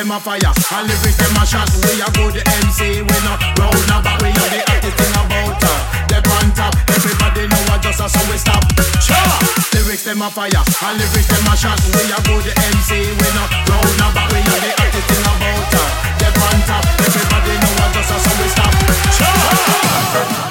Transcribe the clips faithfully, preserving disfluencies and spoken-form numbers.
them a fire, and lyrics them a shot. We a good M C, we no round now, but we are the active thing about her. They on top, everybody know what just a so we stop. Sure. Lyrics them a fire, and lyrics them a shot. We a good M C, we no round now, but we are the active thing about her. They on top, everybody know what just a so we stop. Sure.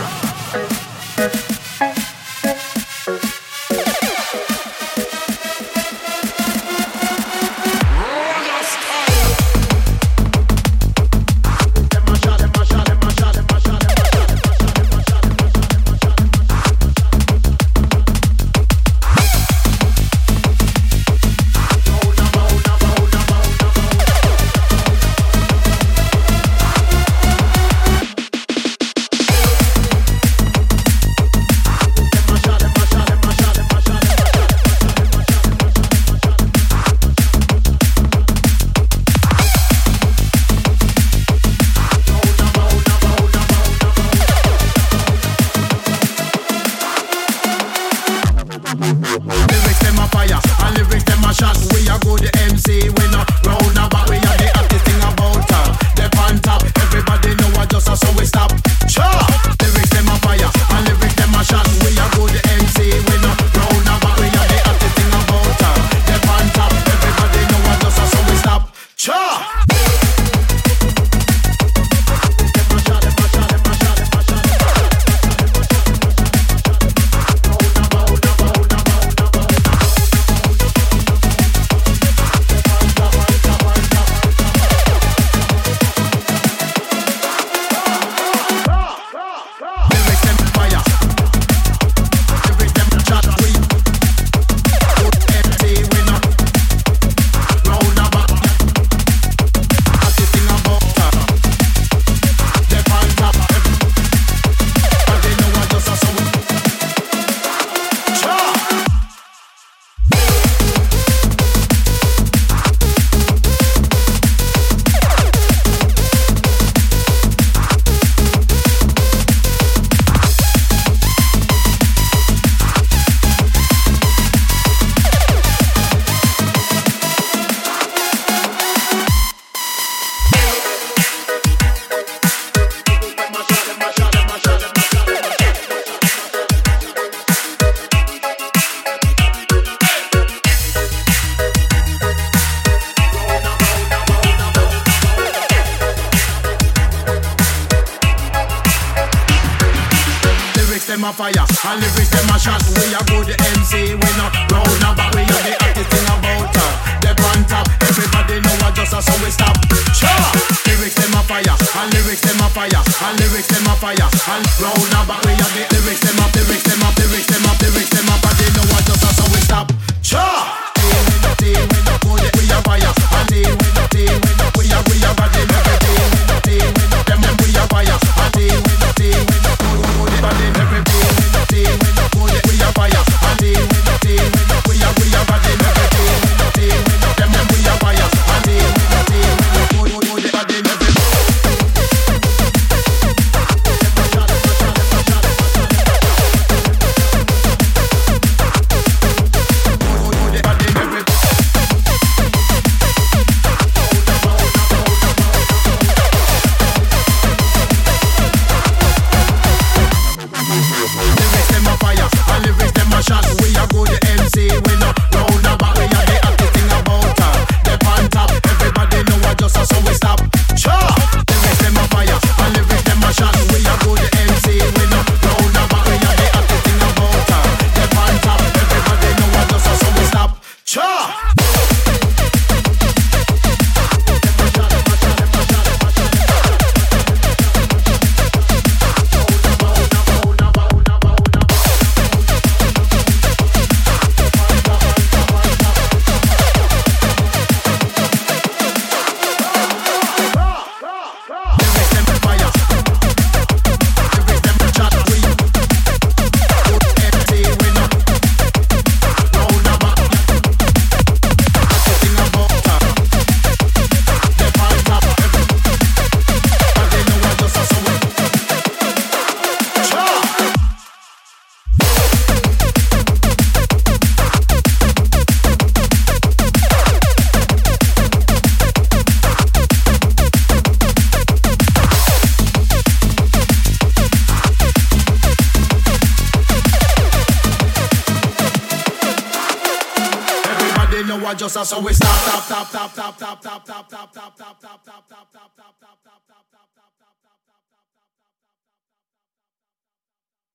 a fire, and lyrics them a shot. We a good M C, we no round now, but we are the active thing about her. They on top, everybody know what just a so we stop. Sure, lyrics them a fire, and lyrics them a fire, and lyrics them a fire, and round now, but we are the lyrics them up, lyrics them up, lyrics them up, lyrics them up, but they know what just a so we stop. Sure, we no team, we no good, we a fire, and they we no team, we no we a we a bad in everything, we no team, we no them them we a fire, and they we no team, we no good, good bad in everything. We no team, we no good, we a fire. And they, we no team, we no we a we a bad in everything. We no team, we no them them we a fire. And they, we no team, we no good, good bad in everything. just a so we stop, stop, stop, stop, stop, stop, stop, stop, stop, stop, stop, stop, stop, stop, stop, stop.